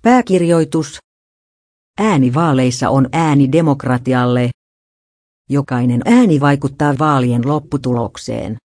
Pääkirjoitus. Ääni vaaleissa on ääni demokratialle. Jokainen ääni vaikuttaa vaalien lopputulokseen.